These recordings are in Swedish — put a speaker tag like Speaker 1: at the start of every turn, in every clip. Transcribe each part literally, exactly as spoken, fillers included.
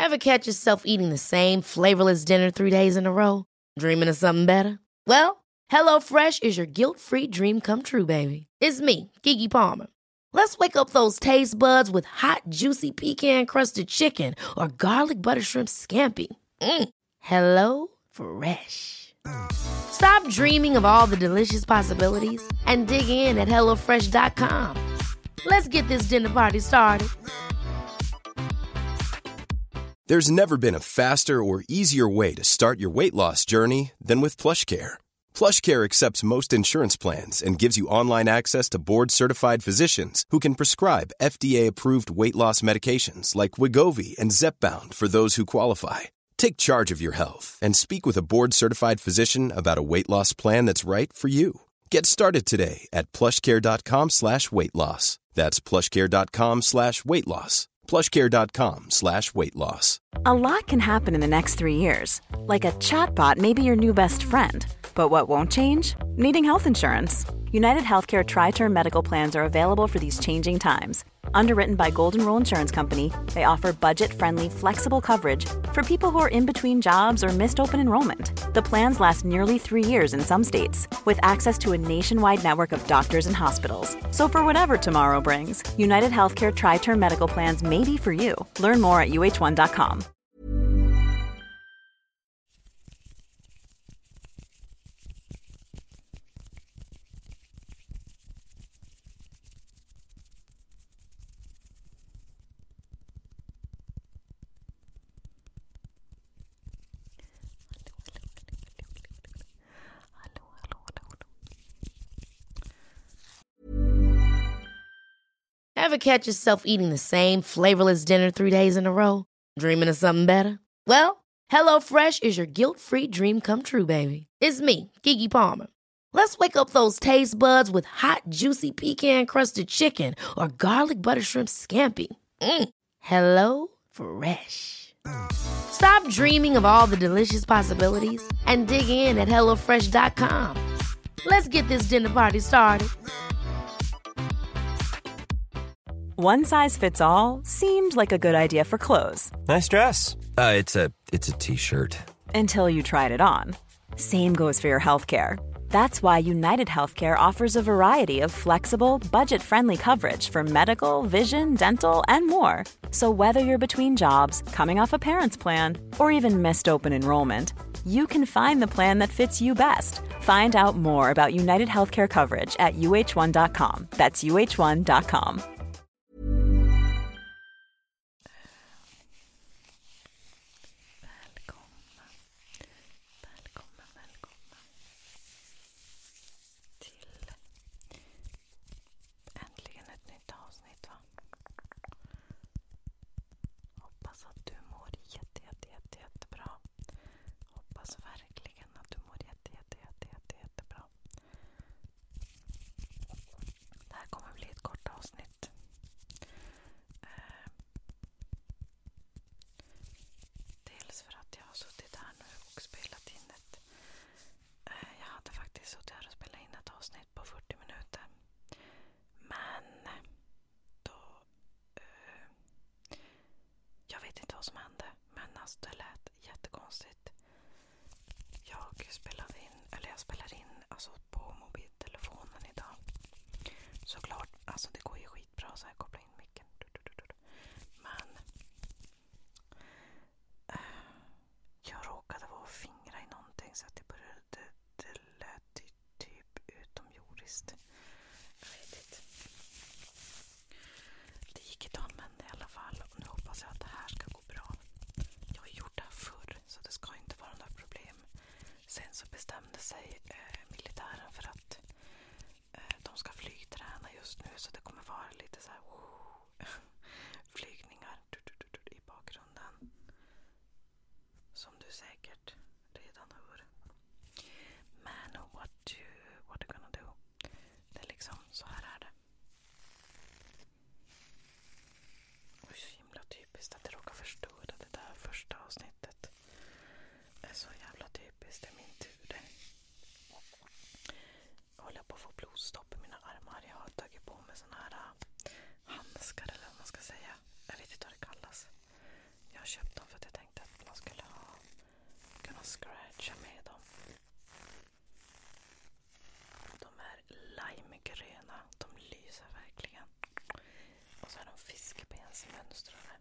Speaker 1: Ever catch yourself eating the same flavorless dinner three days in a row? Dreaming of something better? Well, HelloFresh is your guilt-free dream come true, baby. It's me, Keke Palmer. Let's wake up those taste buds with hot, juicy pecan-crusted chicken or garlic butter shrimp scampi. Mm. Hello Fresh. Stop dreaming of all the delicious possibilities and dig in at hello fresh dot com. Let's get this dinner party started.
Speaker 2: There's never been a faster or easier way to start your weight loss journey than with PlushCare. PlushCare accepts most insurance plans and gives you online access to board-certified physicians who can prescribe F D A-approved weight loss medications like Wegovy and Zepbound for those who qualify. Take charge of your health and speak with a board-certified physician about a weight loss plan that's right for you. Get started today at plushcare.com slash weight loss. That's plushcare.com slash weight loss. plushcare.com slash weight loss.
Speaker 3: A lot can happen in the next three years. Like a chatbot may be your new best friend. But what won't change? Needing health insurance. United Healthcare Tri-Term Medical Plans are available for these changing times. Underwritten by Golden Rule Insurance Company, they offer budget-friendly, flexible coverage for people who are in between jobs or missed open enrollment. The plans last nearly three years in some states, with access to a nationwide network of doctors and hospitals. So for whatever tomorrow brings, United Healthcare Tri-Term Medical Plans may be for you. Learn more at u h one dot com.
Speaker 1: Ever catch yourself eating the same flavorless dinner three days in a row? Dreaming of something better? Well, HelloFresh is your guilt-free dream come true, baby. It's me, Keke Palmer. Let's wake up those taste buds with hot, juicy pecan-crusted chicken or garlic butter shrimp scampi. Mm. Hello Fresh. Stop dreaming of all the delicious possibilities and dig in at hello fresh dot com. Let's get this dinner party started.
Speaker 3: One size fits all seemed like a good idea for clothes.
Speaker 4: Nice dress. Uh, it's a it's a t-shirt.
Speaker 3: Until you tried it on. Same goes for your healthcare. That's why United Healthcare offers a variety of flexible, budget-friendly coverage for medical, vision, dental, and more. So whether you're between jobs, coming off a parent's plan, or even missed open enrollment, you can find the plan that fits you best. Find out more about United Healthcare coverage at u h one dot com. That's u h one dot com.
Speaker 5: Köpt dem för att limegröna. De lyser verkligen. Och så är de fiskebensmönstrade.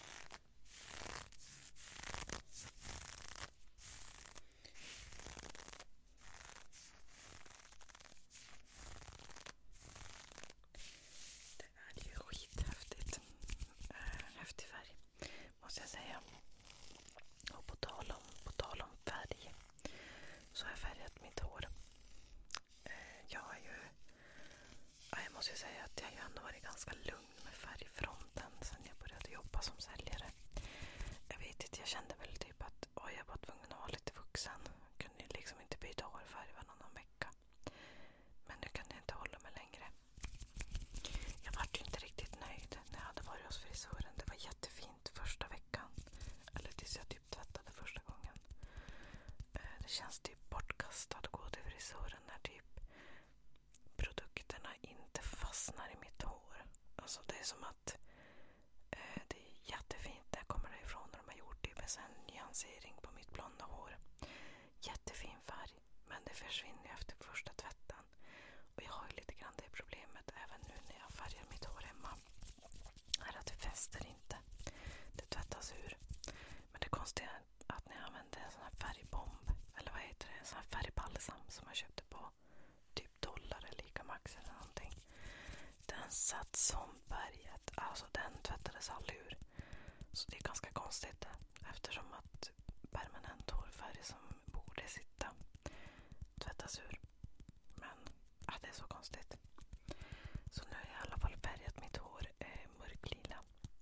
Speaker 5: Det är ju skithäftigt. Äh, häftig färg, måste jag säga. Och på tal om, på tal om färg så har jag färgat mitt hår. Äh, jag är ju... Ja, jag måste ju säga att jag har ju ändå varit ganska lugn med färgfronten sen jag började jobba som säljare. Jag vet inte, jag kände väl typ att oj, jag var tvungen att vara lite vuxen. Jag kunde ju liksom inte byta hårfärg varannan vecka. Men nu kunde jag inte hålla mig längre. Jag var ju inte riktigt nöjd när jag hade varit hos frisören. Det var jättefint första veckan. Eller tills jag typ tvättade första gången. Det känns typ bortkastat att gå till frisören när typ produkterna inte fastnar i mitt hår. Alltså det är som att eh, det är jättefint när jag kommer därifrån när de har gjort typ en sån nyansering på mitt blonda hår. Jättefin färg, men det försvinner efter första tvätten. Och jag har ju lite grann det problemet även nu när jag färgar mitt hår hemma. Är att det fäster inte. Det tvättas ur. Men det konstiga är att när jag använder en sån här färgbomb, eller vad heter det, en sån här färgbalsam som jag köpte på typ dollar eller Ica Max eller någonting. Den satt som berget. Alltså den tvättades aldrig ur. Så det är ganska konstigt eftersom att permanent hårfärg som borde sitta tvättas ur. Men ja, det är så konstigt. Så nu har jag i alla fall färgat mitt hår eh, mörklila.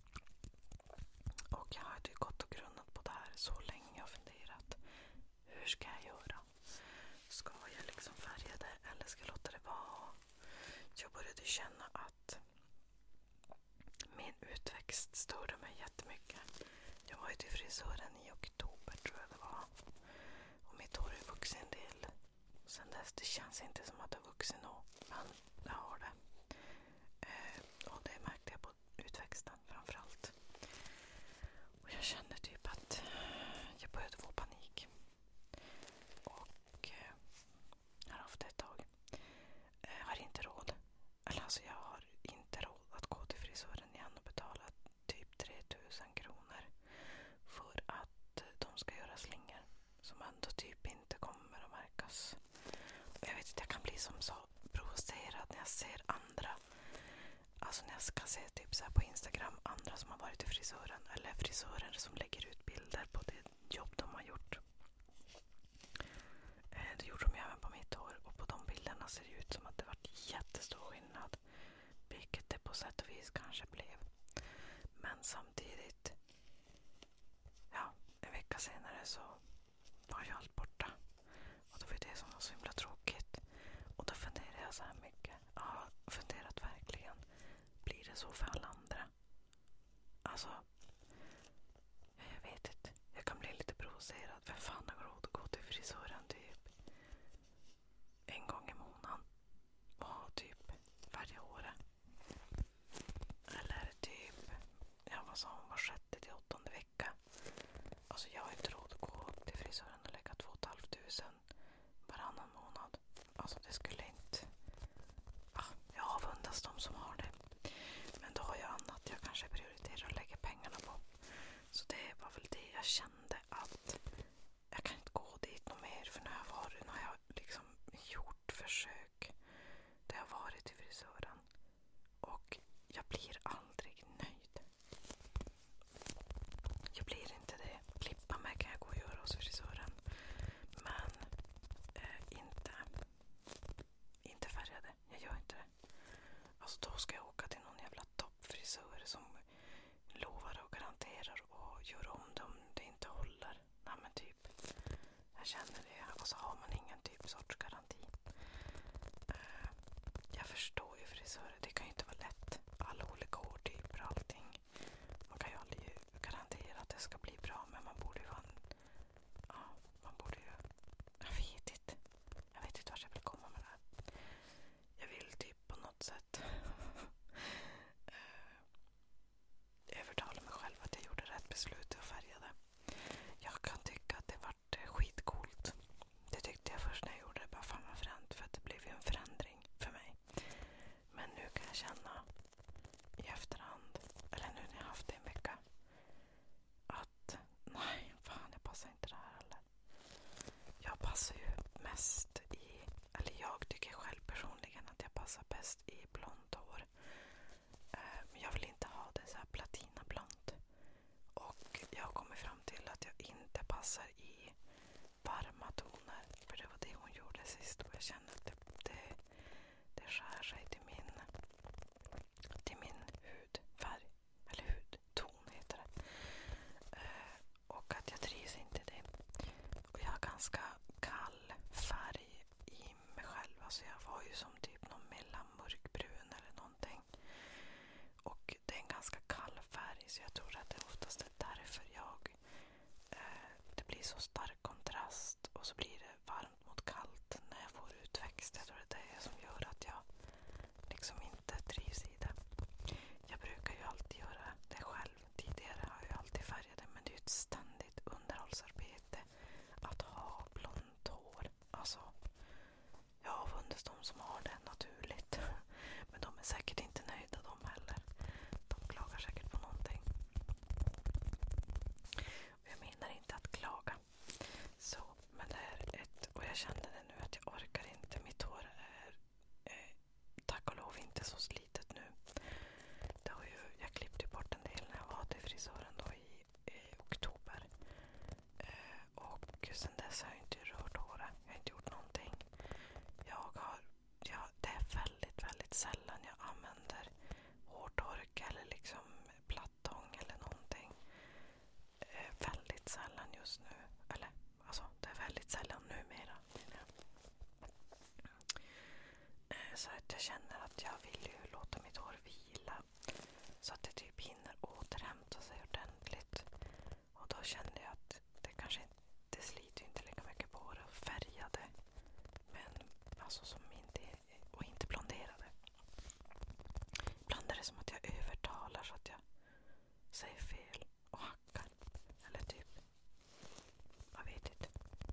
Speaker 5: Och jag har ju gått och grunnat på det här så länge och funderat. Hur ska jag göra? Ska jag liksom färga det eller ska jag låta det vara? Jag började känna att min utväxt störde mig jättemycket. Jag var ju till frisören i oktober tror jag det var. Och mitt hår är vuxen en del. Sen dess, det känns inte som att det är vuxen nå. Men jag har det. Eh, och det märkte jag på utväxten framförallt. Och jag kände typ att jag började få panik. Och eh, jag har haft det ett tag. Jag har inte råd. Eller alltså jag har inte råd att gå till frisören igen och betala typ tre tusen kronor för att de ska göra slingor som ändå typ inte kommer att märkas. Och jag vet inte, jag kan bli som så provocerad när jag ser andra. Alltså när jag ska se typ så här på Instagram andra som har varit till frisören eller frisörer som lägger ut bilder på det jobb de har gjort. Eh, det gjorde de ju även på mitt hår och på de bilderna ser det ut som att det var jättestor skillnad. Vilket det på sätt och vis kanske blev. Men samtidigt, ja, en vecka senare så var ju allt borta. Och det var ju det som var så himla tråkigt. Och då funderade jag så här mycket. Jag har funderat verkligen. Blir det så för alla andra? Alltså, jag vet inte. Jag kan bli lite provocerad. Vem fan har råd att gå till frisören typ en gång i månaden? Och typ färga håret. Eller typ, ja vad sa hon, var sjätte till åttonde vecka. Alltså jag har inte råd att gå till frisören och lägga två och ett halvt tusen varannan månad. Alltså det skulle inte... Ah, jag avundas de som har det. Men då har jag annat jag kanske prioriterar att lägga pengarna på. Så det var väl det jag kände att jag kan inte gå dit något mer. För nu har jag varit, nu har jag liksom gjort försök. Där jag har varit till frisören. Och jag blir aldrig nöjd. Jag blir inte det. Klippa mig kan jag gå och göra hos frisören. Men eh, inte inte färgade. Jag gör inte det. Alltså då ska jag åka till någon jävla toppfrisör som lovar och garanterar och gör om det om det inte håller. Nej men typ. Jag känner det. Och så har man ingen typ sorts garanti. Uh, jag förstår ju frisörer. Det kan ju inte vara lätt. Alla olika hårtyper och allting. Man kan ju aldrig garantera att det ska bli bra. Men man borde ju vara en... Ja, man borde ju... Jag vet inte. Jag vet inte vart jag vill komma med det här. Jag vill typ på något sätt övertala mig själv att jag gjorde rätt beslut och färgade. Jag kan tycka att det vart skitcoolt. Det tyckte jag först när jag gjorde det. Bara fan vad fränt, för att det blev ju en förändring för mig. passar ju mest i, eller jag tycker själv personligen att jag passar bäst i blont hår. Eh, men jag vill inte ha det så här platinablont. Och jag kommer fram till att jag inte passar i varma toner. För det var det hon gjorde sist och jag känner att det, det, det skär sig till min, till min hudfärg. Eller hudton heter det. Eh, och att jag trivs inte i det. Och jag har ganska kall färg i mig själv. Alltså jag var ju som typ någon mellan mörkbrun eller någonting. Och det är en ganska kall färg så jag tror att det oftast är därför jag eh, det blir så stark kontrast och så blir det varmt mot kallt när jag får utväxt. Jag tror att det är det som gör att jag liksom inte trivs i det. Jag brukar ju alltid göra det själv. Tidigare har jag alltid färgat det, men det är ju ett ständigt underhållsarbete att ha blont hår. Alltså, jag avundas de som har det naturligt. Men de är säkert inte nöjda de heller. De klagar säkert på någonting. Och jag menar inte att klaga. Så, men det är ett, och jag kände det nu att jag orkar inte. Mitt hår är eh, tack och lov inte så slitet nu. Det har ju, jag klippte bort en del när jag var till frisören då i, i oktober. Eh, och sen dess har jag inte rört håret. Jag har inte gjort någonting. Jag har, ja, det är väldigt, väldigt sällan jag använder hårtork eller liksom plattång eller någonting. Eh, väldigt sällan just nu. Eller, alltså det är väldigt sällan numera. Eh, så att jag känner att jag vill ju låta mitt hår vila. Så att det typ hinner återhämta sig ordentligt. Och då kände jag att det kanske inte, det sliter inte lika mycket på håret och färgade. Men alltså som inte, och inte blonderade. Ibland är det som att jag övertalar så att jag säger fel och hackar. Eller typ, jag vet inte.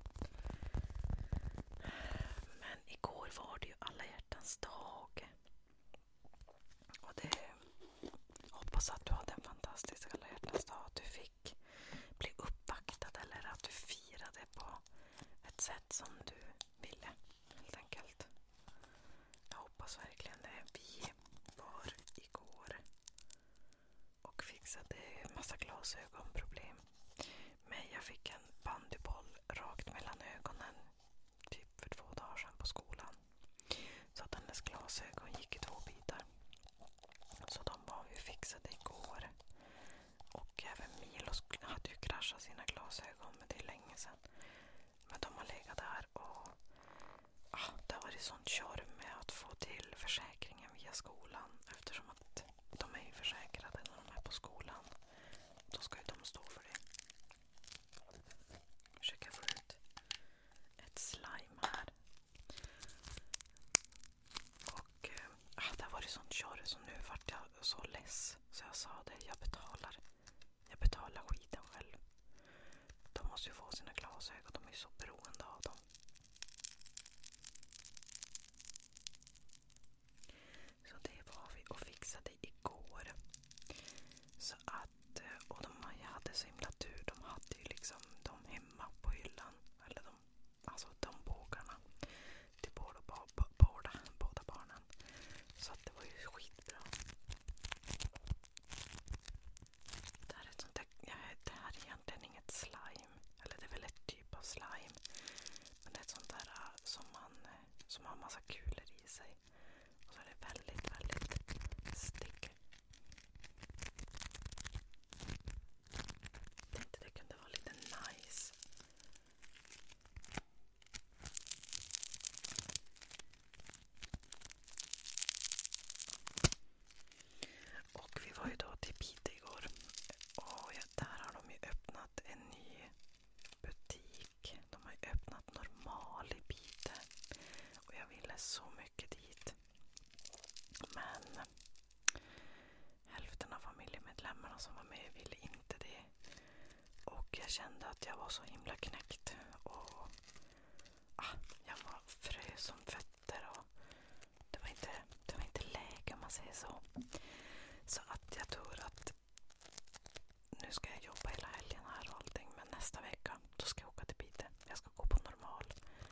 Speaker 5: Men igår var det ju alla hjärtans dag. Och det hoppas att du hade en fantastisk alla hjärtans dag. Att du fick bli uppvaktad eller att du firade på ett sätt som du ville, helt enkelt. Jag hoppas verkligen det. Vi var igår och fixade en massa glasögonproblem. Men jag fick en bandyboll rakt mellan ögonen typ för två dagar sedan på skolan. Så att hennes glasögon gick i två bitar. Så de var vi fixade igår. Och även Milos hade ju kraschat sina glasögon, men det är länge sedan. Men de har legat där och ah, det har varit sånt kör med att få till försäkringen via skolan. Eftersom att de är ju försäkrade när de är på skolan. Då ska ju de stå för det. Försöka få ut ett slime här. Och eh, ah, det har varit sånt kör så nu vart jag så less. Så jag sa det, jag betalar. Jag betalar skiten själv. De måste ju få sina glasögon, de är ju så beroende av dem. Så det var vi och fixade igår. Så att, och de hade så himla tur. De hade ju liksom de hemma på hyllan. Eller de, alltså de bågarna. Till båda, båda, båda, båda barnen. Så att det var ju skitbra. Det här är ett sånt där, ja, det här är egentligen inget slime. Eller det är väl ett typ av slime. Men det är ett sånt där äh, som man, äh, som har en massa kulor i sig. Och så är det väldigt, väldigt stick. Tänkte det kunde vara lite nice. Och vi var ju då till Piteå igår. Och ja, där har de ju öppnat en ny butik. De har ju öppnat normal i Piteå. Och jag ville så mycket dit. Men hälften av familjemedlemmarna som var med ville inte det. Och jag kände att jag var så himla knäckt. Och ah, jag var frös som fötter. Och det var inte, det var inte läge om man säger så. Så att jag tror att nu ska jag jobba hela helgen här och allting. Men nästa vecka då ska jag åka till Piteå. Jag ska gå på normal.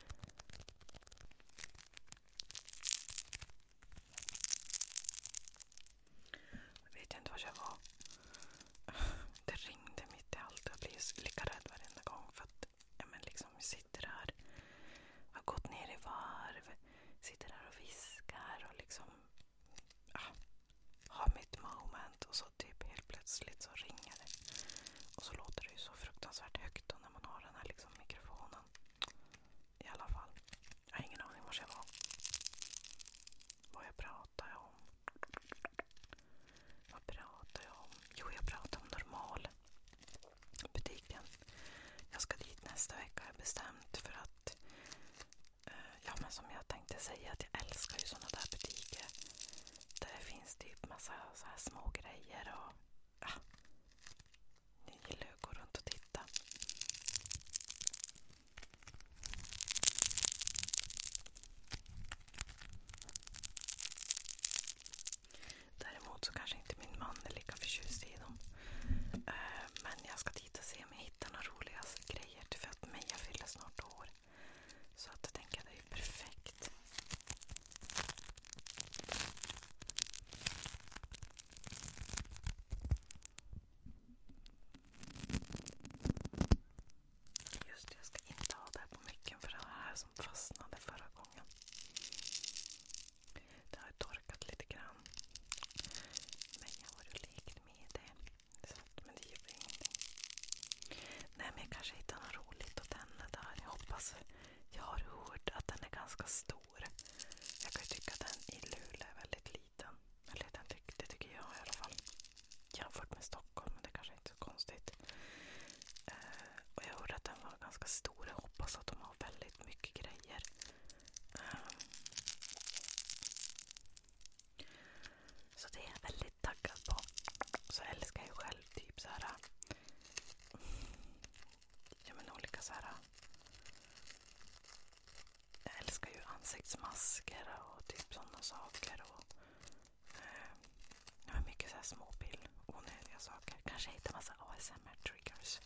Speaker 5: som jag tänkte säga att jag älskar ju såna där butiker där det finns typ massa så här små grejer och ja, jag gillar att gå runt och titta. Däremot så kanske inte min man är lika förtjust i dem. Uh, men jag ska titta och se om jag hittar några roliga grejer. För att Meja fyller snart år. Så att jag tänker att det är perfekt. Just det, jag ska inte ha det här på mycket för det här som fastnade förra gången. Det har torkat lite grann. Men jag har ju lekt med det. Så, men det gör ingenting. Nej, men jag kanske hittar något roligt att tända där. Jag hoppas. Jag har hört att den är ganska stor. Jag kan ju tycka att den i Luleå är väldigt liten. Eller den tyck, det tycker jag i alla fall. Jämfört med Stockholm, men det kanske inte är så konstigt. Uh, och jag hörde att den var ganska stor. Jag hoppas att de har väldigt mycket grejer. Uh, så det är jag väldigt taggad på. Så jag älskar ju själv typ så här. Ja, men olika så här. Jag älskar ju ansiktsmasker och typ sådana saker. Och eh, jag har mycket så här småpill, onödiga saker. Kanske hittar massa A S M R-triggers.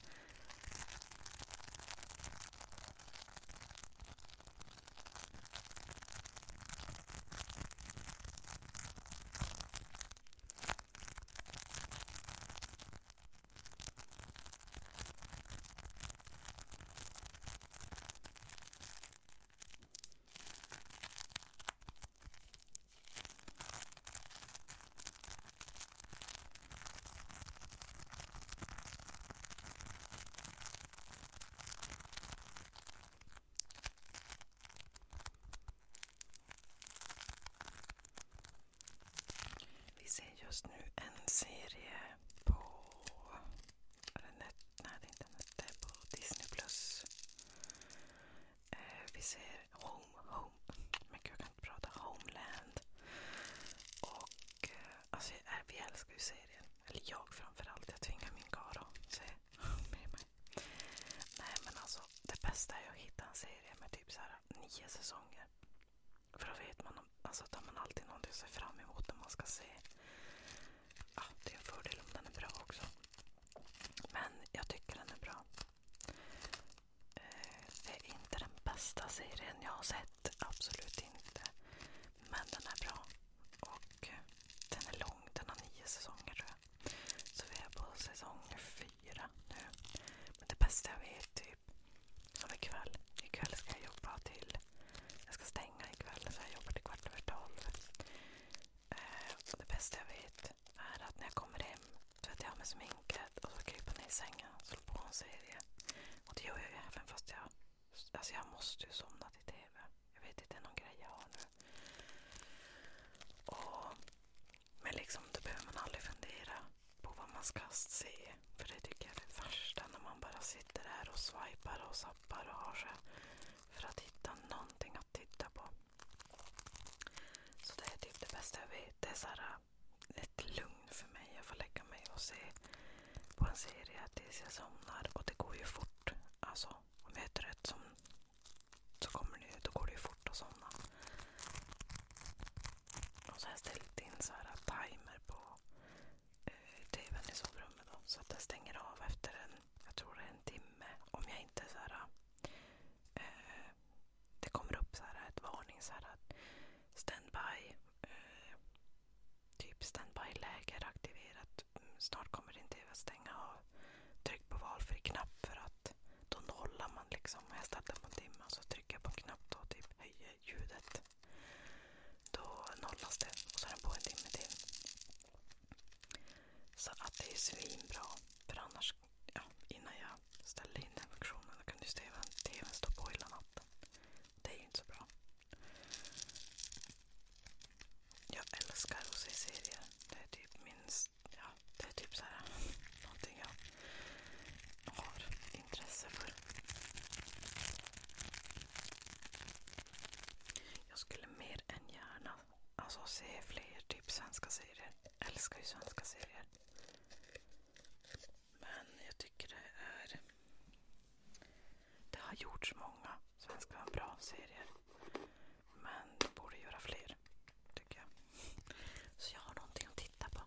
Speaker 5: Vi ser just nu en serie på eller net, nej det är inte net, det är på Disney plus. Eh, vi ser Home, Home, men jag kan inte prata, Homeland. Och eh, alltså eh, vi älskar ju serien. Eller jag framförallt, jag tvingar min karl att se med mig. Nej, men alltså det bästa är att hitta en serie med typ så här nio säsonger. För då vet man, alltså att man alltid någonting att se fram emot när man ska se. Ja, det är en fördel om den är bra också. Men jag tycker den är bra. Eh, det är inte den bästa serien jag har sett. Absolut inte. Men den är bra. Och eh, den är lång. Den har nio säsonger tror jag. Så vi är på säsong fyra nu. Men det bästa jag vet typ som ikväll. Ikväll ska jag jobba till. Jag ska stänga ikväll så jag jobbar till kvart över tolv. Eh, och det bästa jag vet är att när jag kommer hem tvättar jag med sminket och så kryper ner i sängen och slår på en serie. Och det gör jag ju även fast jag alltså jag måste ju somna till tv. Jag vet inte, det är någon grej jag har nu. Och men liksom då behöver man aldrig fundera på vad man ska se. För det tycker jag är det värsta när man bara sitter där och swipar och zappar och har sig för att hitta någonting att titta på. Så det är typ det bästa jag vet. Det är så här ett lugn för mig. Jag får lägga mig och se på en serie tills jag somnar. Och det går ju fort. Alltså, om jag är trött som, så kommer det, då går det ju fort att somna. Och så har jag ställt in så här timer på eh, tvn i sovrummet då. Så att det stänger av efter en, jag tror det är en timme. Om jag inte så här eh, det kommer upp så här ett varning så här att standby eh, typ standby-läge aktiverat. Snart kommer din tv att stänga av. Tryck på valfri knapp för att då nollar man liksom. Jag ställer på en timme och så trycker jag på en knapp då typ höjer ljudet. Då nollas det och så är den på en timme till. Så att det är svinbra. För annars, ja, innan jag ställde in den funktionen då kunde ju tvn, tvn stå på hela natten. Det är ju inte så bra. Jag älskar att se serier. Det är typ minst, ja, det är typ så här någonting jag har intresse för. gjorts många svenska bra serier. Men det borde göra fler, tycker jag. Så jag har någonting att titta på.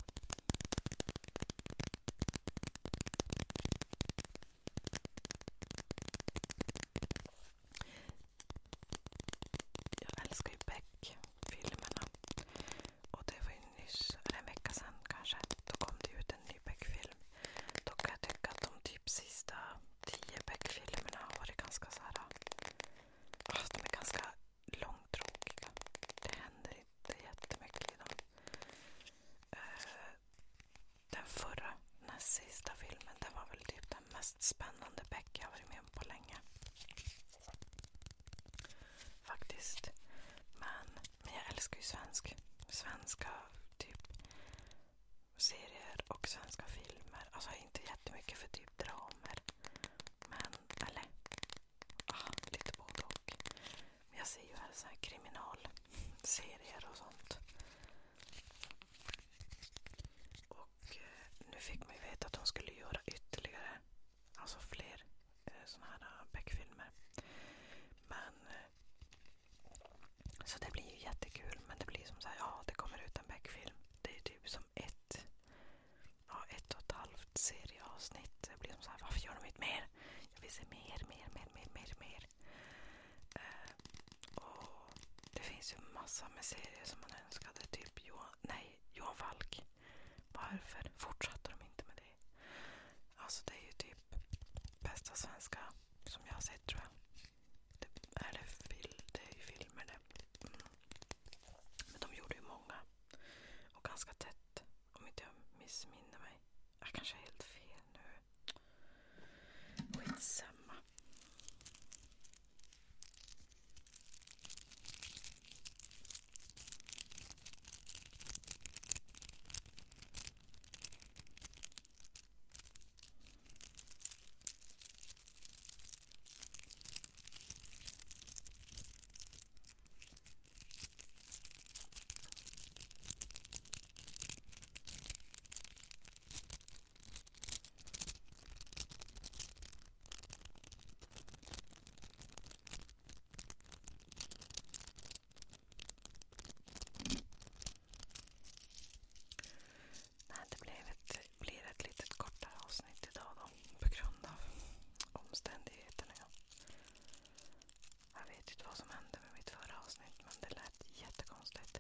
Speaker 5: Jag älskar ju Beck-filmerna. Och det var ju nyss, eller en vecka sedan kanske, då kom det ut en ny Beck-film. Då kan jag tycka att de typ sista tio Beck-filmerna har varit ganska så här. Fast de är ganska långtråkiga. Det händer inte jättemycket i dem. Uh, den förra, näst sista filmen, den var väl typ den mest spännande Beck jag har varit med om på länge. Faktiskt. Men, men jag älskar ju svensk. Svenska typ serier och svenska filmer. Alltså inte jättemycket för typ dramer. Men, eller ah, lite både och. Men jag ser ju här så här kriminalserier och sånt. Och eh, nu fick man ju veta att de skulle göra ytterligare, alltså fler eh, såna här uh, Beck-filmer. Men eh, så det blir ju jättekul. Men det blir som så här, ja, det kommer ut en Beck-film. Det är typ som ett ja, ett och ett halvt serieavsnitt. Det blir som så här, varför gör de inte mer? Jag vill se mer, mer, mer, mer, mer, mer. Eh, och det finns ju massa med serier som man önskade. Typ Johan, nej, Johan Falk. Varför fortsatte de inte med det? Alltså det är ju typ bästa svenska som jag har sett, tror jag. Det är, det fil, det är ju filmer det. Mm. Men de gjorde ju många. Och ganska tätt. Om inte jag missminner mig. Jag kanske är helt fel nu. Skitsamma. Nej, det blev ett, blir ett litet kortare avsnitt idag då. På grund av omständigheterna. Jag vet inte vad som hände med mitt förra avsnitt, men det lät jättekonstigt.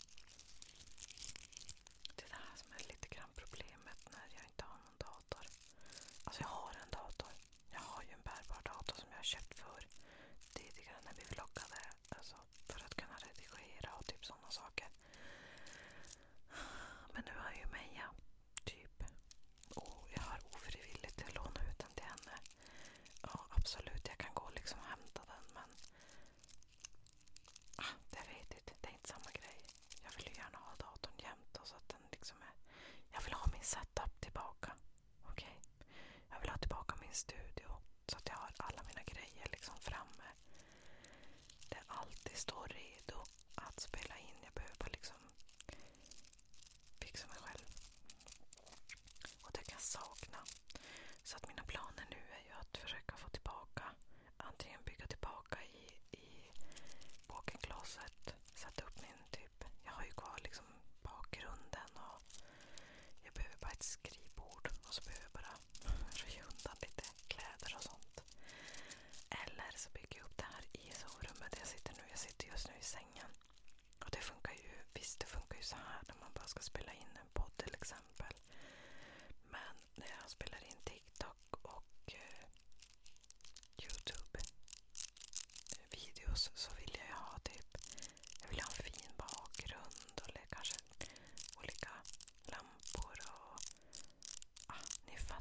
Speaker 5: Det är det här som är lite grann problemet när jag inte har någon dator. Alltså jag har en dator. Jag har ju en bärbar dator som jag har köpt för tidigare när vi vloggade. Alltså för att kunna redigera och typ sådana saker. Men nu har jag ju Meja, typ. Och jag har ofrivilligt lånat ut den till henne. Ja, absolut, jag kan gå liksom och hämta den, men ah, det vet inte, det är inte samma grej. Jag vill ju gärna ha datorn jämt och så att den liksom är. Jag vill ha min setup tillbaka. Okej. Okay? Jag vill ha tillbaka min studio så att jag har alla mina grejer liksom framme. Det alltid står redo att spela in. Jag behöver bara liksom fixa mig själv. Och det kan jag sakna. Så att mina planer nu är ju att försöka få tillbaka, antingen bygga tillbaka i, i walk-in-closet, sätta upp min typ, jag har ju kvar liksom bakgrunden och jag behöver bara ett skrivbord och så behöver jag bara röja undan lite kläder och sånt. Eller så bygger jag upp det här i sovrummet där jag sitter nu. Jag sitter just nu i sängen. Och det funkar ju, visst det funkar ju så här när man bara ska spela in en podd till exempel. Men när jag spelar in TikTok och eh, YouTube eh, videos så vill jag ha typ, jag vill ha en fin bakgrund och kanske olika lampor och ah, ni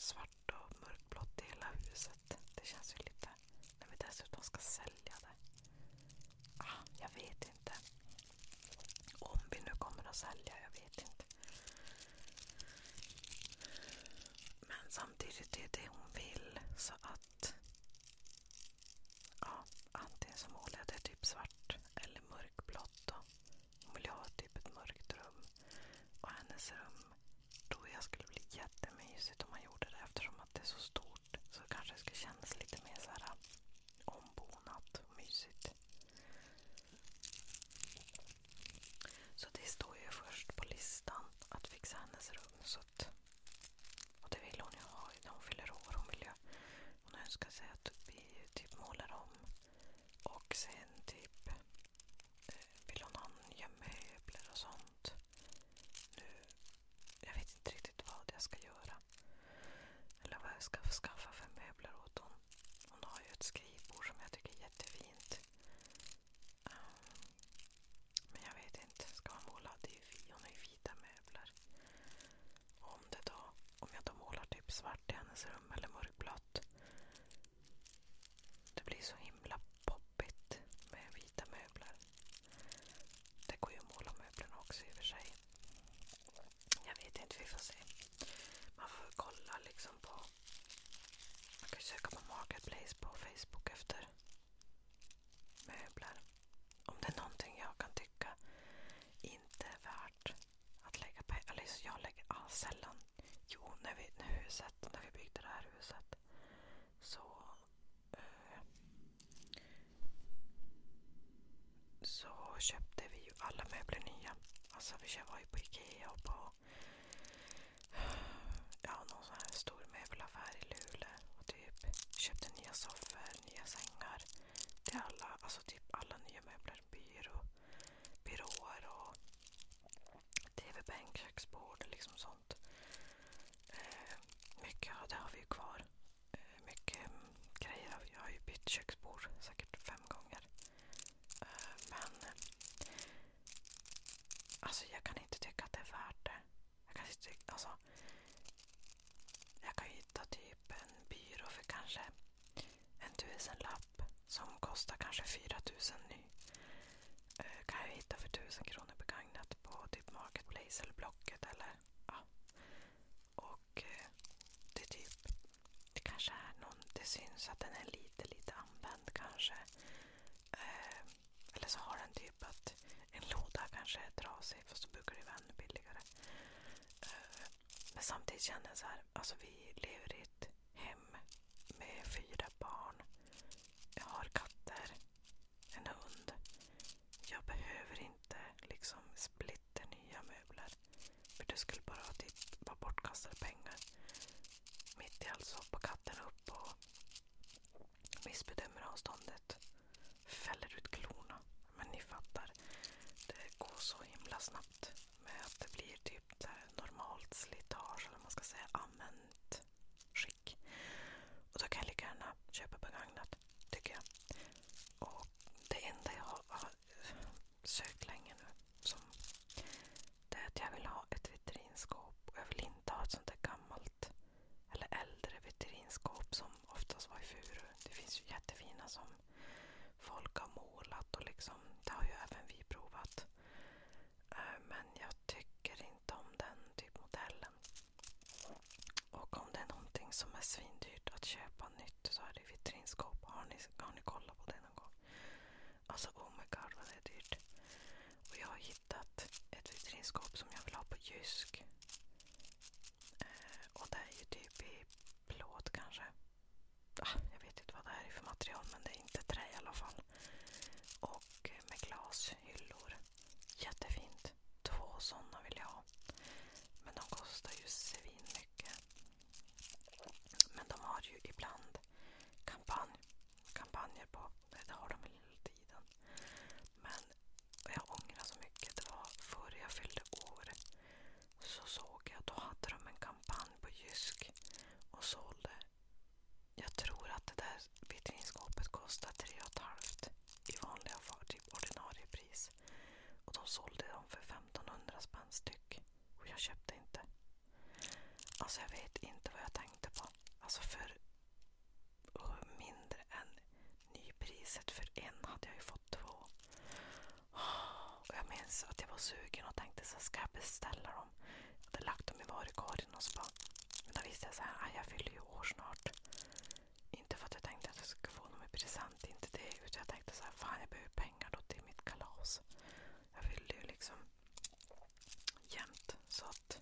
Speaker 5: svart och mörkblått i hela huset. Det känns ju lite, när vi dessutom ska sälja det. Ah, jag vet inte. Om vi nu kommer att sälja, jag vet inte. Men samtidigt är det hon vill, så att ja, antingen så målar jag det typ svart eller mörkblått då. Hon vill ha typ ett mörkt rum. Och hennes rum, då jag skulle bli jättemysigt om man gjorde det, eftersom att det är så stort. Så kanske det skulle kännas lite mer så här ombonat och mysigt. Så det står ju först på listan att fixa hennes rum. Så att, och det vill hon ju ha när hon fyller år. Hon vill ju, hon önskar sig att vi typ målar om. Och sen typ vill hon ha nya möbler och sånt. Nu, jag vet inte riktigt vad jag ska göra. Eller vad jag ska skaffa för möbler åt hon. Hon har ju ett skrivbord som jag tycker är jättefint. Um, men jag vet inte. Ska man måla? Det är ju vi. Hon har ju vita möbler. Och om det då, om jag då målar typ svart i hennes rum eller mörkblått. Det blir så himla poppigt med vita möbler. Det går ju att måla möblerna också i och för sig. Jag vet inte, vi får se. Man får kolla liksom på... Man kan ju söka på Marketplace på Facebook efter möbler. Om det är någonting jag kan tycka inte är värt att lägga på... Eller så jag lägger ah, sällan. Jo, när vi, när, huset, när vi byggde det här huset så... Eh, så köpte vi ju alla möbler nya. Alltså vi var ju på Ikea och på ja, någon sån här stor möbelaffär i Luleå och typ köpte nya soffor, nya sängar till alla, alltså typ alla nya möbler, byrå, byråer och tv-bänk, köksbord, liksom sånt. Eh, mycket, ja, det har vi ju kvar. Eh, mycket mm, grejer har vi, jag har ju bytt köksbord säkert fem gånger. Eh, men alltså jag kan inte tycka att det är värt det. Jag kan inte tycka, alltså jag kan hitta typ en byrå för kanske en tusenlapp som kostar kanske fyra tusen ny. Eh, kan jag hitta för tusen kronor begagnat på typ Marketplace eller Blocket eller ja. Och eh, det är typ, det kanske är någon, det syns att den är lite lite använd kanske. Eh, eller så har den typ att en låda kanske är trasig, fast så brukar det vara ännu billigare. Uh, men samtidigt känner jag så här, alltså vi lever i ett hem med fyra barn. Jag har katter, en hund. Jag behöver inte liksom splitter nya möbler. För det skulle bara typ vara bortkastade pengar. Mitt i allt så hoppar katten upp och missbedömer avståndet. Fäller ut klorna. Men ni fattar, det går så himla snabbt med att det blir typ så här normalt slitage, eller man ska säga använt skick. Och då kan jag lika gärna köpa begagnat, tycker jag. Och det enda jag har, har sökt länge nu, som det är att jag vill ha ett vitrinskåp. Och jag vill inte ha ett sånt där gammalt eller äldre vitrinskåp som oftast var i furu. Det finns ju jättefina som folk har målat och liksom, det har ju även vi provat. Men jag tycker inte om den typ modellen. Och om det är någonting som är svindyrt att köpa nytt så är det vitrinskåp. Har ni, har ni kollat på det någon gång? Alltså oh my god vad det är dyrt. Och jag har hittat ett vitrinskåp som jag vill ha på Jysk. Eh, och det är ju typ i plåt kanske. Ah, jag vet inte vad det är för material, men det är inte trä i alla fall. Och med glashyllor. Jättefint. Två sådana vill jag ha. Men de kostar ju svin mycket. Men de har ju ibland kampanj, kampanjer på. Det har de hela tiden. Men jag ångrar så mycket. Det var före jag fyllde år. Så såg jag, då hade de en kampanj på Jysk. Och sålde. Jag tror att det där vitrinskåpet kostar tre och ett halvt i vanliga fall, typ ordinarie pris. Och de sålde dem för femtonhundra spänn styck. Och jag köpte inte. Alltså jag vet inte vad jag tänkte på. Alltså för uh, mindre än nypriset för en hade jag ju fått två. Och jag minns att jag var sugen och tänkte så ska jag beställa dem. Jag hade lagt dem i varukorgen och så bara, men då visste jag så här, jag fyller ju år snart. Inte för att jag tänkte att jag skulle få dem i present, inte det, utan jag tänkte så här, fan jag behöver pengar då till mitt kalas. Jag fyllde ju liksom jämt, så att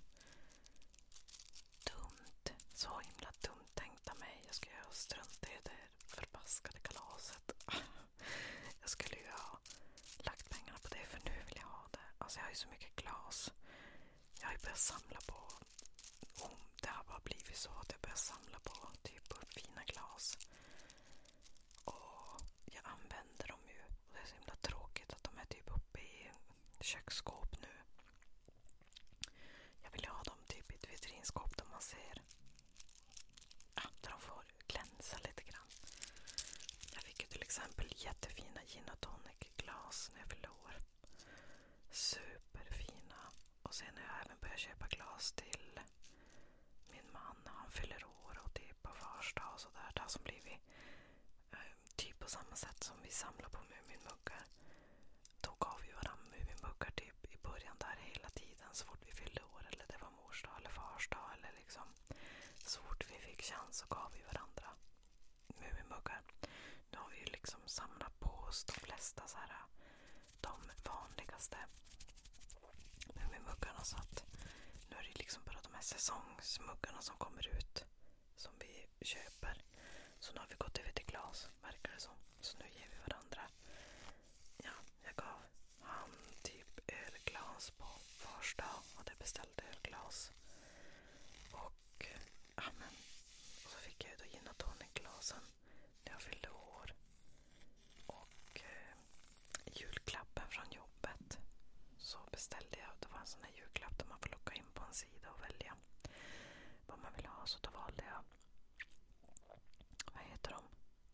Speaker 5: dumt, så himla dumt tänkte mig. Jag skulle ju strunta i det förbaskade kalaset. Jag skulle ju ha lagt pengarna på det, för nu vill jag ha det. Alltså jag har ju så mycket glas. Jag har ju börjat samla på, oh, det har bara blivit så att jag börjar samla på typ på fina glas. Och jag använder dem ju. Och det är så himla tråkigt att de är typ uppe i köksskåp nu. Jag vill ju ha dem typ i ett vitrinskåp där man ser, ja, där de får glänsa lite grann. Jag fick ju till exempel jättefina gin och tonic glas när jag fyllde år. Superfina. Och sen har jag även börjat köpa glas till min man när han fyller år och typ på fars dag och sådär. Det har som blivit eh, typ på samma sätt som vi samlar på Muminmuggar. Då gav vi varandra Muminmuggar typ i början där hela tiden så fort vi fyllde år, eller det var mors dag eller fars dag, eller liksom så fort vi fick chans så gav vi varandra Muminmuggar. Nu har vi ju liksom samlat på oss de flesta så här, de vanligaste Muminmuggarna, så att nu är det liksom bara de här säsongsmuggarna som kommer ut som vi köper. Så nu har vi gått över till glas, verkar det som. Så nu ger vi varandra. Ja, jag gav han typ ölglas på fars dag och det beställde ölglas. Och ja, men och så fick jag ju då gin och tonic-glasen när jag fyllde år. Och eh, julklappen från jobbet så beställde jag, det var en sån här julklapp där man får logga in på en sida och välja vad man vill ha, så då valde jag, vad heter de?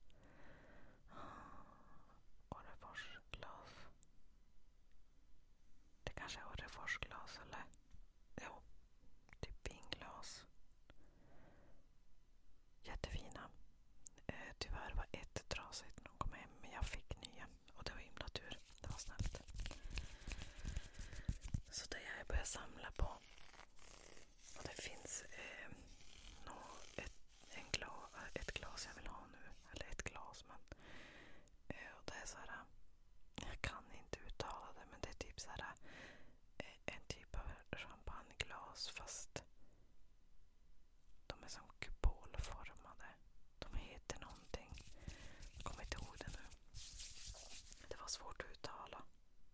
Speaker 5: Orreforsglas. Det kanske är Orreforsglas eller? Jo, typ vinglas. Jättefina. Eh, tyvärr var ett trasigt när de kom hem, men jag fick nya och det var himla tur. Det var snällt. Så det jag börjar samla på. Och det finns eh, nå, ett, en gla, ett glas jag vill ha nu. Eller ett glas, men eh, och det är så här, jag kan inte uttala det, men det är typ så här eh, en typ av champagneglas, fast de är som kupolformade. De heter någonting. Jag kommer inte ihåg det nu. Det var svårt att uttala.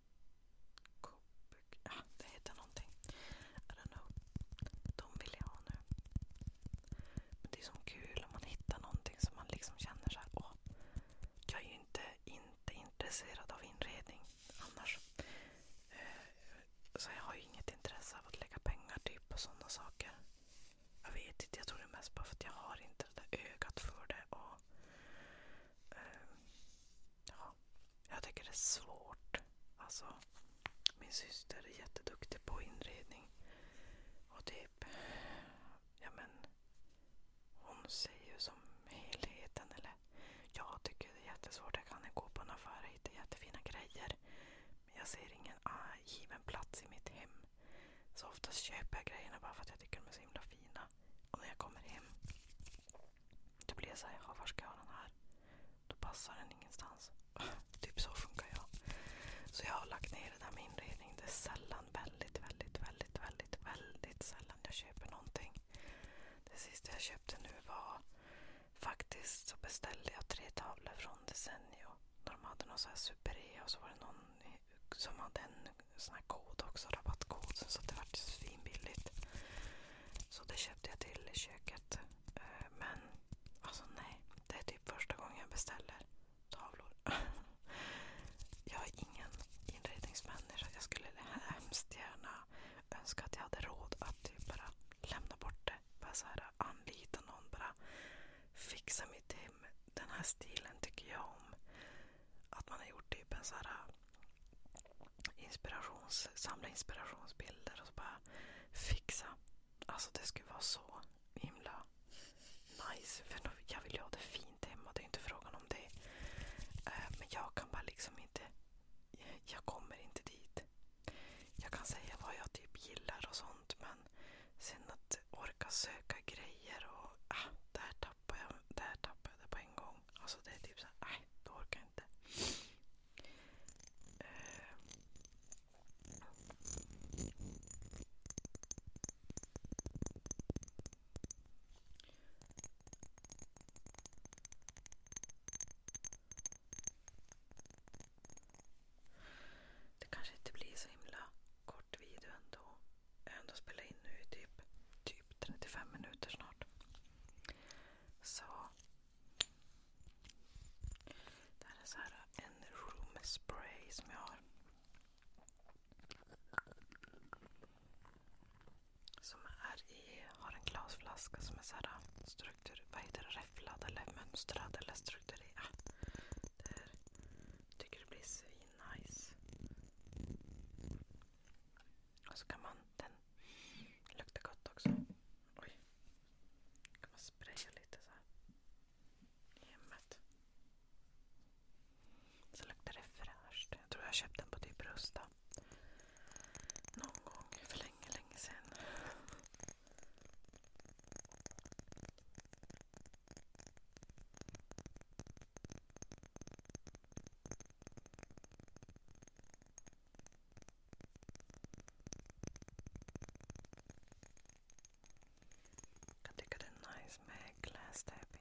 Speaker 5: Ja, det heter någonting. I don't know. De vill jag ha nu. Men det är som kul om man hittar någonting som man liksom känner så här, åh, jag är ju inte, inte intresserad av inredning annars. Så jag har ju inget intresse av att lägga pengar typ på sådana saker. Jag vet inte, jag tror det är mest bara för att jag har inte det där ögat för det. Och eh, ja, jag tycker det är svårt. Alltså, min syster är jätteduktig på inredning. Och typ, ja men, hon ser ju som helheten. Eller, jag tycker det är jättesvårt. Jag kan gå på en affär och hitta jättefina grejer. Men jag ser ingen ah, given plats i mitt hem. Så oftast köper jag grejerna bara för att jag tycker de är så himla fina. Och när jag kommer hem, då blir jag så här, ja, var ska jag ha den här? Då passar den ingenstans. Typ så funkar jag. Så jag har lagt ner det där med inredning. Det är sällan, väldigt, väldigt, väldigt, väldigt, väldigt sällan jag köper någonting. Det sista jag köpte nu var faktiskt, så beställde jag tre tavlor från Desenio. De hade någon så här super-e och så var det någon som hade en sån här kod också, rabattkod, så det var svinbilligt. Så det köpte jag till köket. Men alltså nej, det är typ första gången jag beställer tavlor. Jag är ingen inredningsmänniska. Jag skulle hemskt gärna önska att jag hade råd att typ bara lämna bort det. Bara så här anlita någon, bara fixa mitt hem. Den här stilen tycker jag om. Att man har gjort typ en så här inspirations, samla inspirationsbilder och så bara fixa. Alltså det skulle vara så himla nice struktur, vad heter det, räfflad eller mönstrad eller strukturerad. Där tycker det blir svin-nice. Och så kan man, den luktar gott också. Oj. Kan man spraya lite så här i hemmet. Så luktar det fräscht. Jag tror jag köpte den på typ Rusta. Någon gång för länge, länge sedan. Jag tycker det är nice med glass tapping.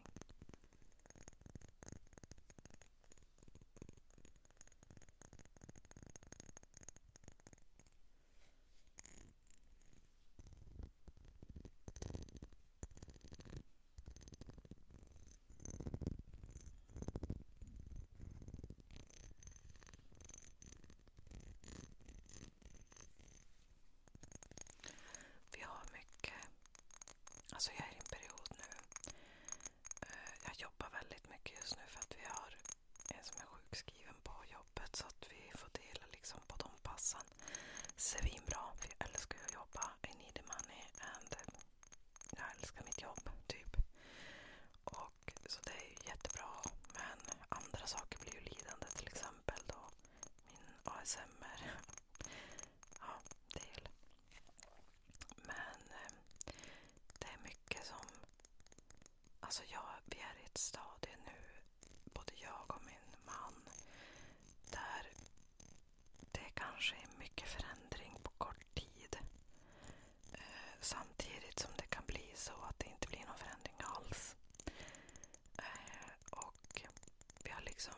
Speaker 5: Vi har mycket, alltså jag är i en period nu, eh, jag jobbar väldigt mycket just nu för att vi har en som är sjukskriven på jobbet, så att vi får dela liksom på de passen. Svinbra, för jag älskar att jobba, I need the money and eh, jag älskar mitt jobb typ. Och så det är ju jättebra, men andra saker blir ju lidande, till exempel då min A S M R ja, del. Men eh, det är mycket som, alltså jag, vi är i ett stadie nu, både jag och min man, där det kanske är mycket förändring på kort tid. Eh, samtidigt som det kan bli så att det inte blir någon förändring alls. Eh, och vi har liksom,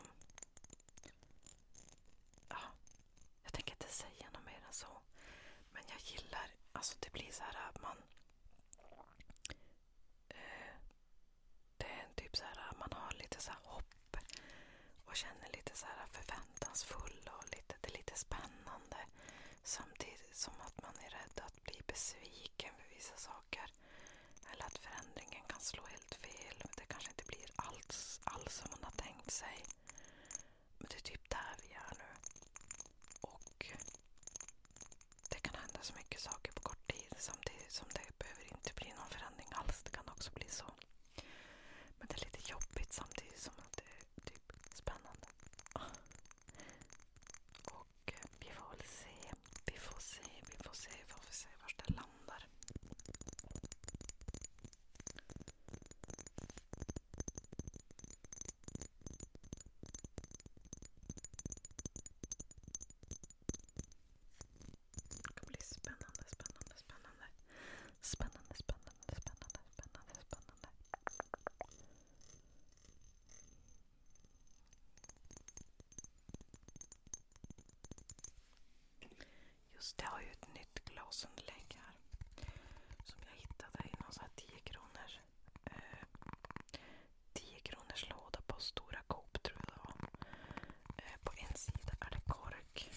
Speaker 5: ja, jag tänker inte säga något mer än så. Men jag gillar, alltså det blir så här att man, eh, det är en typ så här, man har lite så här hopp och känner lite så här förväntansfull och lite, det är lite spännande. Samtidigt som att man är rädd att bli besviken för vissa saker. Eller att förändringen kan slå helt fel. Det kanske inte blir alls, alls som man har tänkt sig. Men det är typ där vi är nu. Och det kan hända så mycket saker på kort tid. Samtidigt som det behöver inte bli någon förändring alls. Det kan också bli så. Men det är lite jobbigt samtidigt som att det är typ spännande. Och vi får väl se. Vi får se, vi får se, vi får se var det landar. Det kan bli spännande, spännande, spännande. Spännande, spännande, spännande, spännande, spännande. Just det, jag har ju ett nytt glasunderlägg här som jag hittade i någon sån här tio kronors eh, tio kronors låda på Stora Coop, tror jag det var. Eh, på en sida är det kork.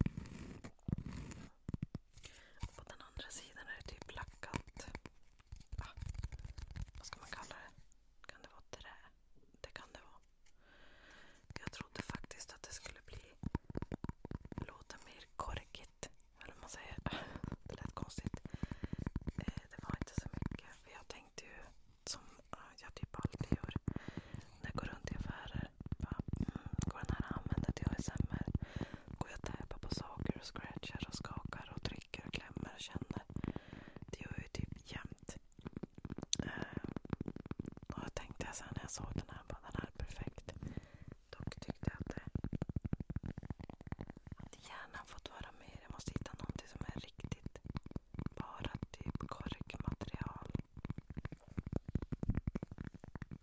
Speaker 5: Och på den andra sidan är det typ lackat. Ah, vad ska man kalla det? Kan det vara trä? Det kan det vara. Jag trodde faktiskt att det skulle bli låta mer korkigt. Eller vad man säger. Det lät konstigt. Eh, det var inte så mycket. För jag tänkte ju, som jag typ alltid gör när jag går runt i affärer. Bara, mm, går den här att använda till A S M R? Går jag och täpar på saker och scratchar och skakar och trycker och klämmer och känner. Det gör jag ju typ jämt. Eh, och jag tänkte sen när jag såg den här, bara, den här är perfekt. Dock tyckte jag att det att hjärnan fått vara med. Jag måste hitta någonting som är riktigt bara typ korkmaterial.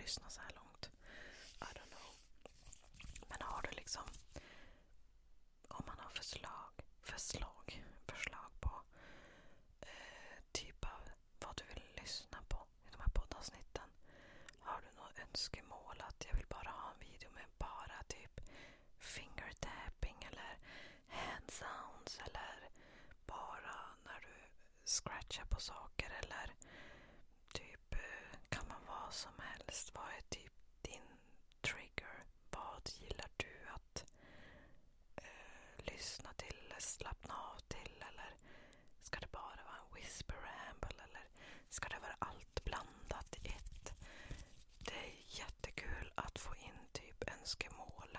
Speaker 5: lyssna så här långt. I don't know. Men har du liksom, om man har förslag, förslag, förslag på eh, typ av vad du vill lyssna på i de här poddavsnitten. Har du något önskemål att jag vill bara ha en video med bara typ finger tapping eller hand sounds eller bara när du scratchar på saker eller typ kan man vara som helst. Vad är typ din trigger? Vad gillar du att eh, lyssna till eller slappna av till? Eller ska det bara vara en whisper ramble? Eller ska det vara allt blandat i ett? Det är jättekul att få in typ önskemål.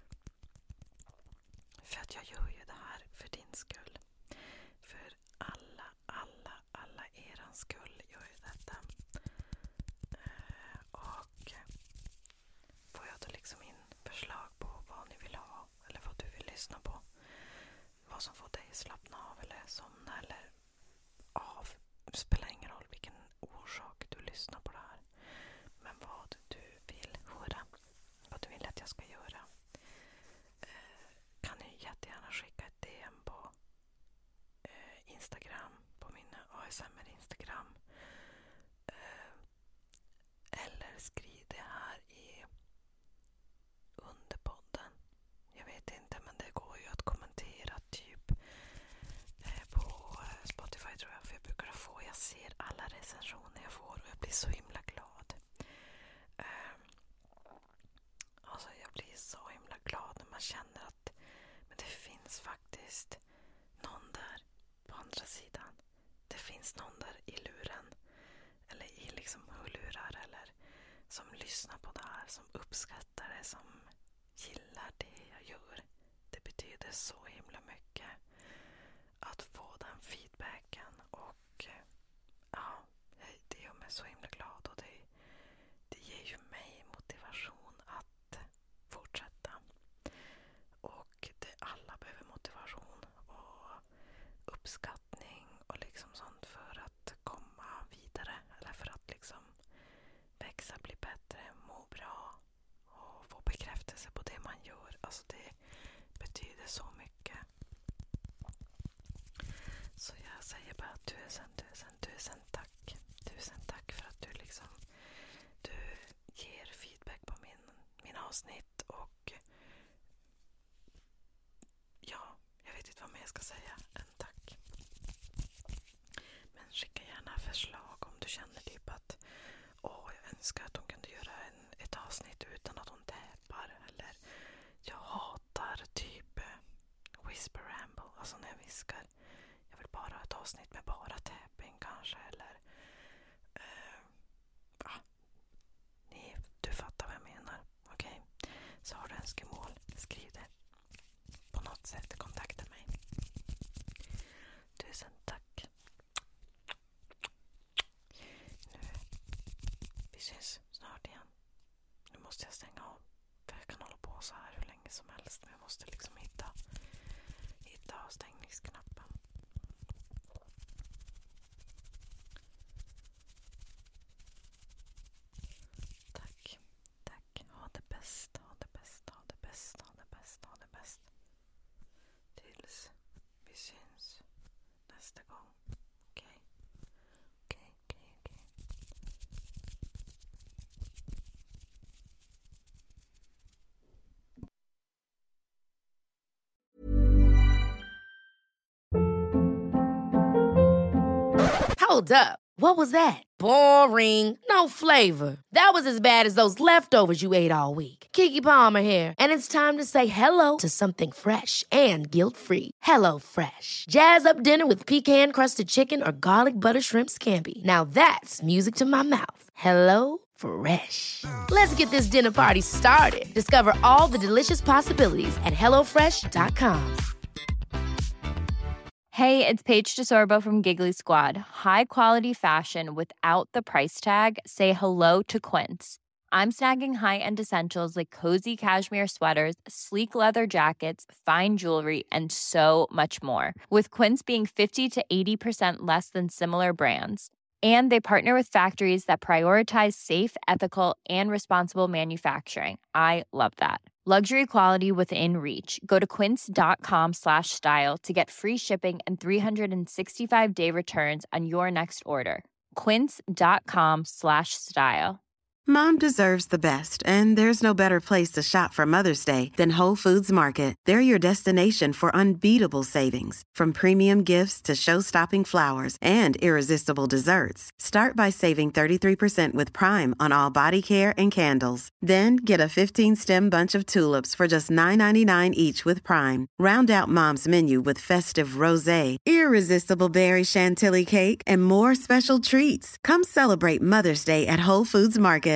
Speaker 5: För att jag gör ju det här för din skull. För alla, alla, alla erans skull gör ju detta. Eh, och får jag då liksom in förslag på vad ni vill ha eller vad du vill lyssna på. Vad som får dig slappna av eller somna eller av. Det spelar ingen roll vilken orsak du lyssnar på det här. Men vad du vill höra. Vad du vill att jag ska göra. Eh, kan ni jättegärna skicka ett D M på eh, Instagram. På min A S M R Instagram. Eh, eller skriv det här i under podden. Jag vet inte, men det går ju att kommentera typ eh, på eh, Spotify tror jag. För jag brukar få, jag ser alla recensioner jag får och jag blir så himla glad. Eh, alltså jag blir så himla glad när man känner att men det finns faktiskt någon där på andra sidan. Det finns någon där i luren eller i liksom hörlurar eller som lyssnar på det här, som uppskattar det, som gillar det jag gör. Det betyder så himla mycket att få den feedbacken och ja, det gör mig så himla glad och det, det ger ju mig motivation att fortsätta. Och det, alla behöver motivation och uppskattning och liksom sånt för att komma vidare eller för att liksom växa, bli bättre, må bra och få bekräftelse på det man gör. Alltså det betyder så mycket. Så jag säger bara tusen, tusen, tusen tack. Tusen tack för att du liksom du ger feedback på min, min avsnitt och ja, jag vet inte vad mer jag ska säga än tack. Men skicka gärna förslag om du känner typ att åh, jag önskar att hon kunde göra en, ett avsnitt utan att hon täpar. Eller jag hatar typ eh, whisper ramble, alltså när jag viskar. Jag vill bara ha ett avsnitt med bara tapping kanske. Eller eh, ja, ni, du fattar vad jag menar. Okej, okay. Så har du önskemål, skriv det. På något sätt kontakta mig. Tusen tack. Nu, vi syns snart igen. Nu måste jag stänga av. För jag kan hålla på så här hur länge som helst. Men jag måste liksom hitta, hitta avstängningsknappen. Tack. Tack. Ha det bäst. Ha det bäst. Ha det bäst. Ha det bäst. Ha det bäst. Tills vi syns nästa gång. Okej? Okej, okej, okej.
Speaker 1: Hold up. What was that? Boring. No flavor. That was as bad as those leftovers you ate all week. Keke Palmer here, and it's time to say hello to something fresh and guilt-free. Hello Fresh. Jazz up dinner with pecan-crusted chicken or garlic butter shrimp scampi. Now that's music to my mouth. Hello Fresh. Let's get this dinner party started. Discover all the delicious possibilities at hello fresh dot com.
Speaker 6: Hey, it's Paige DeSorbo from Giggly Squad. High quality fashion without the price tag. Say hello to Quince. I'm snagging high-end essentials like cozy cashmere sweaters, sleek leather jackets, fine jewelry, and so much more. With Quince being fifty to eighty percent less than similar brands. And they partner with factories that prioritize safe, ethical, and responsible manufacturing. I love that. Luxury quality within reach. Go to quince.com slash style to get free shipping and three sixty-five day returns on your next order. Quince.com slash style.
Speaker 7: Mom deserves the best, and there's no better place to shop for Mother's Day than Whole Foods Market. They're your destination for unbeatable savings, from premium gifts to show-stopping flowers and irresistible desserts. Start by saving thirty-three percent with Prime on all body care and candles. Then get a fifteen-stem bunch of tulips for just nine ninety-nine each with Prime. Round out Mom's menu with festive rosé, irresistible berry chantilly cake, and more special treats. Come celebrate Mother's Day at Whole Foods Market.